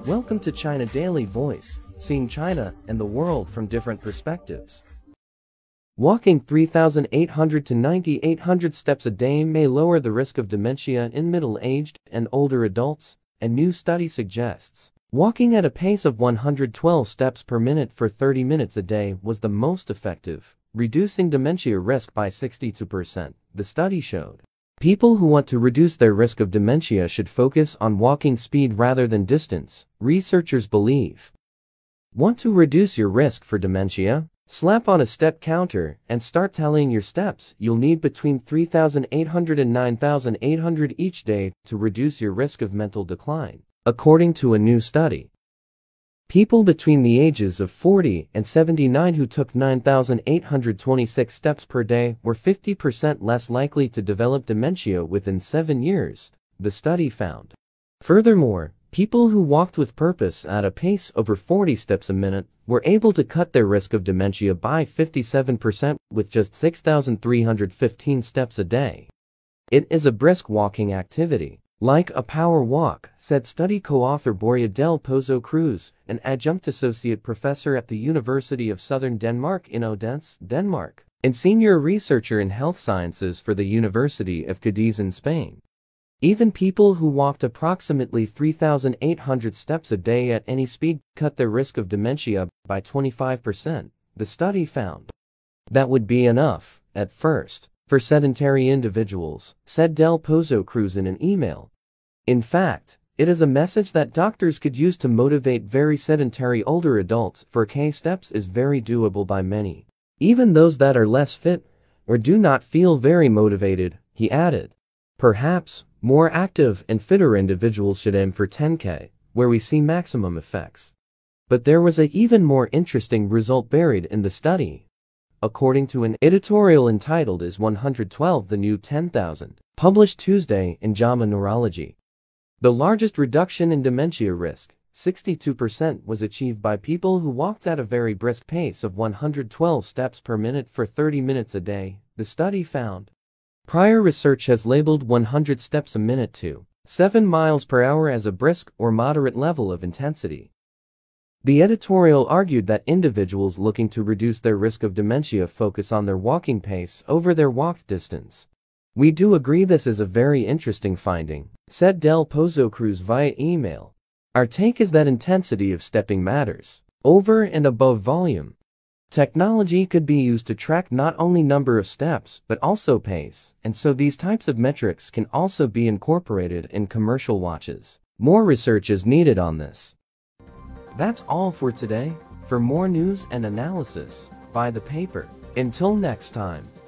Welcome to China Daily Voice, seeing China and the world from different perspectives. Walking 3,800 to 9,800 steps a day may lower the risk of dementia in middle-aged and older adults, a new study suggests. Walking at a pace of 112 steps per minute for 30 minutes a day was the most effective, reducing dementia risk by 62%, the study showed. People who want to reduce their risk of dementia should focus on walking speed rather than distance, researchers believe. Want to reduce your risk for dementia? Slap on a step counter and start tallying your steps. You'll need between 3,800 and 9,800 each day to reduce your risk of mental decline, according to a new study. People between the ages of 40 and 79 who took 9,826 steps per day were 50% less likely to develop dementia within 7 years, the study found. Furthermore, people who walked with purpose at a pace over 40 steps a minute were able to cut their risk of dementia by 57% with just 6,315 steps a day. It is a brisk walking activity, like a power walk, said study co-author Borja del Pozo Cruz, an adjunct associate professor at the University of Southern Denmark in Odense, Denmark, and senior researcher in health sciences for the University of Cadiz in Spain. Even people who walked approximately 3,800 steps a day at any speed cut their risk of dementia by 25%, the study found. That would be enough, at first, for sedentary individuals, said Del Pozo Cruz in an email. In fact, it is a message that doctors could use to motivate very sedentary older adults. 4K steps is very doable by many, even those that are less fit or do not feel very motivated, he added. Perhaps, more active and fitter individuals should aim for 10K, where we see maximum effects. But there was an even more interesting result buried in the study. According to an editorial entitled Is 112 the New 10,000, published Tuesday in JAMA Neurology. The largest reduction in dementia risk, 62%, was achieved by people who walked at a very brisk pace of 112 steps per minute for 30 minutes a day, the study found. Prior research has labeled 100 steps a minute to 7 miles per hour as a brisk or moderate level of intensity. The editorial argued that individuals looking to reduce their risk of dementia focus on their walking pace over their walked distance. We do agree this is a very interesting finding, said Del Pozo Cruz via email. Our take is that intensity of stepping matters, over and above volume. Technology could be used to track not only number of steps but also pace, and so these types of metrics can also be incorporated in commercial watches. More research is needed on this. That's all for today. For more news and analysis, buy the paper. Until next time.